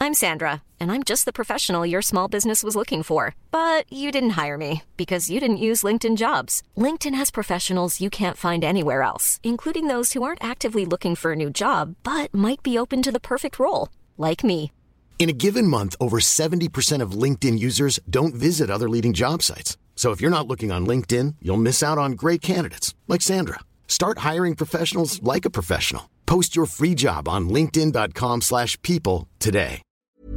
I'm Sandra, and I'm just the professional your small business was looking for. But you didn't hire me because you didn't use LinkedIn Jobs. LinkedIn has professionals you can't find anywhere else, including those who aren't actively looking for a new job, but might be open to the perfect role, like me. In a given month, over 70% of LinkedIn users don't visit other leading job sites. So if you're not looking on LinkedIn, you'll miss out on great candidates like Sandra. Start hiring professionals like a professional. Post your free job on linkedin.com/people today.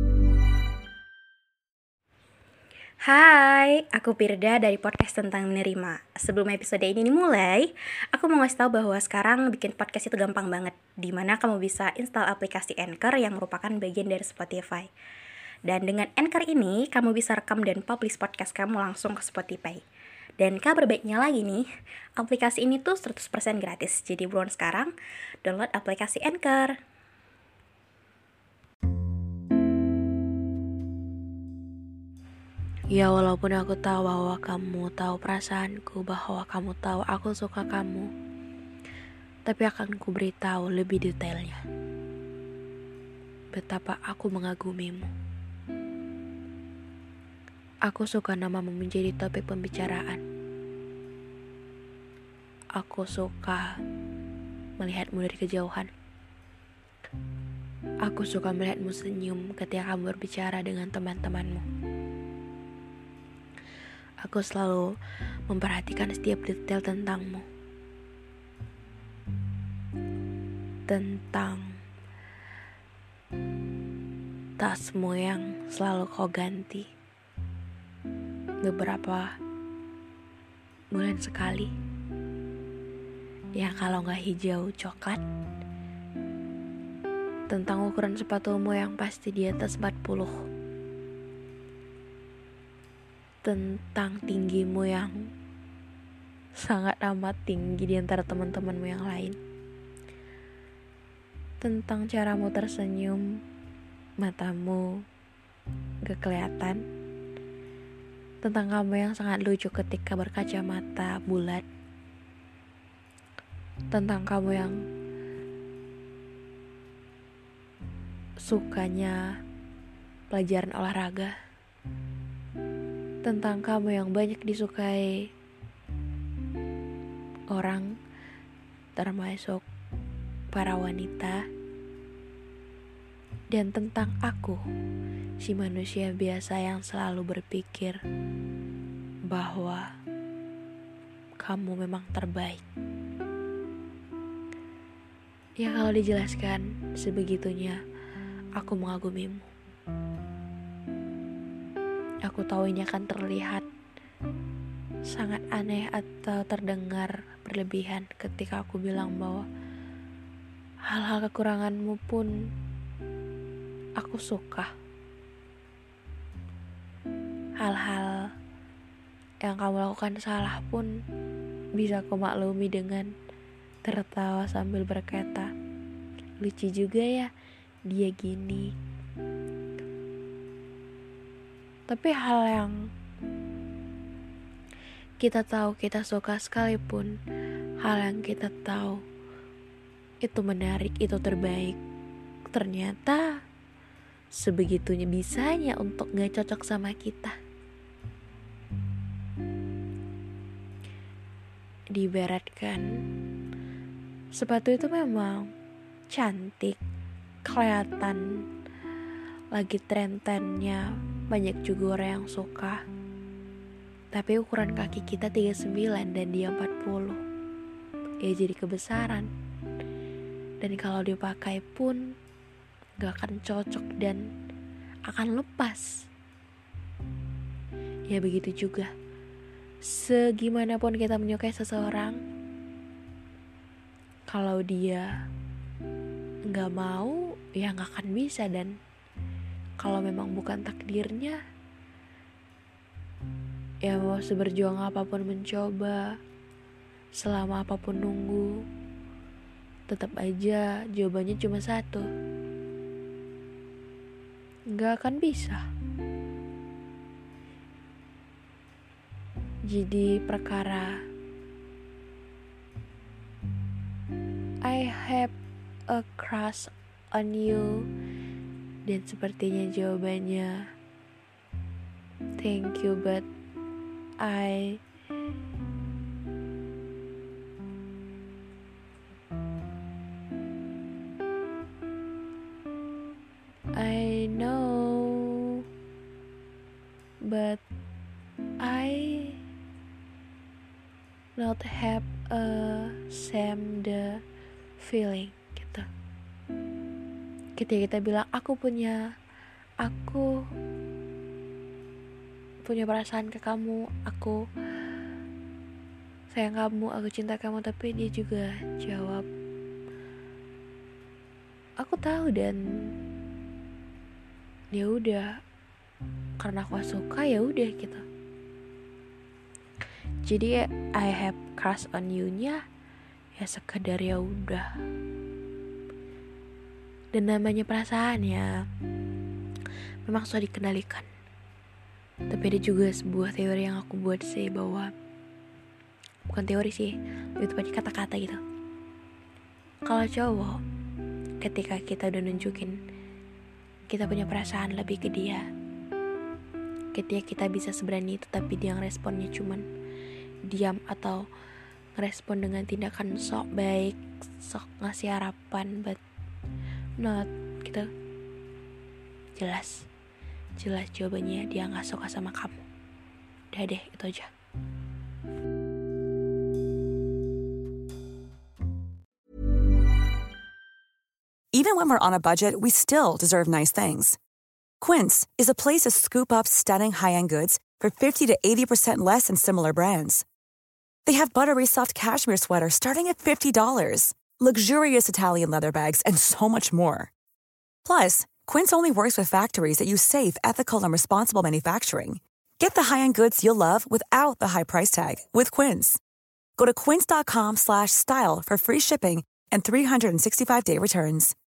Hai, aku Pirda dari podcast tentang menerima. Sebelum episode ini dimulai, aku mau ngasih tahu bahwa sekarang bikin podcast itu gampang banget, dimana kamu bisa install aplikasi Anchor yang merupakan bagian dari Spotify. Dan dengan Anchor ini, kamu bisa rekam dan publish podcast kamu langsung ke Spotify. Dan kabar baiknya lagi nih, aplikasi ini tuh 100% gratis. Jadi buruan sekarang, download aplikasi Anchor. Ya walaupun aku tahu bahwa kamu tahu perasaanku, bahwa kamu tahu aku suka kamu, tapi akan ku beritahu lebih detailnya betapa aku mengagumimu. Aku suka namamu menjadi topik pembicaraan. Aku suka melihatmu dari kejauhan. Aku suka melihatmu senyum ketika kamu berbicara dengan teman-temanmu. Aku selalu memperhatikan setiap detail tentangmu. Tentang tasmu yang selalu kau ganti beberapa bulan sekali. Ya kalau gak hijau coklat. Tentang ukuran sepatumu yang pasti di atas 40. Tentang tinggimu yang sangat amat tinggi di antara teman-temanmu yang lain. Tentang caramu tersenyum, matamu gak kelihatan. Tentang kamu yang sangat lucu ketika berkacamata bulat. Tentang kamu yang sukanya pelajaran olahraga. Tentang kamu yang banyak disukai orang, termasuk para wanita. Dan tentang aku, si manusia biasa yang selalu berpikir bahwa kamu memang terbaik. Ya kalau dijelaskan sebegitunya, aku mengagumimu. Aku tahu ini akan terlihat sangat aneh atau terdengar berlebihan ketika aku bilang bahwa hal-hal kekuranganmu pun aku suka. Hal-hal yang kamu lakukan salah pun bisa aku maklumi dengan tertawa sambil berkata, lucu juga ya dia gini. Tapi hal yang kita tahu kita suka sekalipun, hal yang kita tahu itu menarik, itu terbaik, ternyata sebegitunya bisanya untuk gak cocok sama kita. Diibaratkan sepatu itu memang cantik, kelihatan lagi tren-trennya, banyak juga orang yang suka. Tapi ukuran kaki kita 39 dan dia 40, ya jadi kebesaran. Dan kalau dipakai pun gak akan cocok dan akan lepas. Ya begitu juga, segimanapun kita menyukai seseorang, kalau dia gak mau, ya gak akan bisa. Dan kalau memang bukan takdirnya, ya mau seberjuang apapun mencoba, selama apapun nunggu, tetap aja jawabannya cuma satu, gak akan bisa. Jadi perkara I have a crush on you Dan sepertinya jawabannya thank you, but I know, but I not have a same the feeling gitu. Ketika kita bilang aku punya perasaan ke kamu, aku sayang kamu, aku cinta kamu, tapi dia juga jawab aku tahu dan ya udah, karena aku suka ya udah gitu. Jadi I have crush on you-nya ya sekedar ya udah. Dan namanya perasaan ya memang susah dikendalikan. Tapi ada juga sebuah teori yang aku buat sih, bahwa bukan teori sih, lebih tepatnya kata-kata gitu. Kalau cowok, ketika kita udah nunjukin kita punya perasaan lebih ke dia, ketika kita bisa seberani itu tapi dia ngeresponnya cuman diam atau ngerespon dengan tindakan sok baik, sok ngasih harapan, but not gitu, jelas jawabannya dia gak suka sama kamu. Udah deh, itu aja. Even when we're on a budget, we still deserve nice things. Quince is a place to scoop up stunning high-end goods for 50 to 80% less than similar brands. They have buttery soft cashmere sweaters starting at $50, luxurious Italian leather bags, and so much more. Plus, Quince only works with factories that use safe, ethical, and responsible manufacturing. Get the high-end goods you'll love without the high price tag with Quince. Go to quince.com/style for free shipping and 365-day returns.